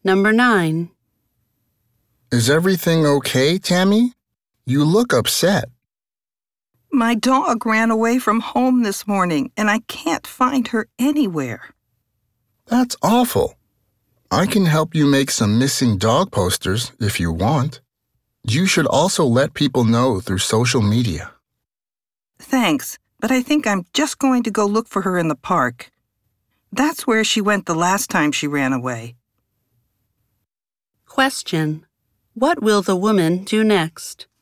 Number 9. Is everything okay, Tammy? You look upset. My dog ran away from home this morning, and I can't find her anywhere. That's awful. I can help you make some missing dog posters if you want. You should also let people know through social media. Thanks, but I think I'm just going to go look for her in the park. That's where she went the last time she ran away. Question. What will the woman do next?